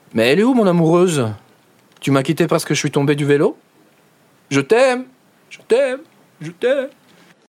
Mais elle est où, mon amoureuse? Tu m'as quitté parce que je suis tombé du vélo? Je t'aime, je t'aime, je t'aime.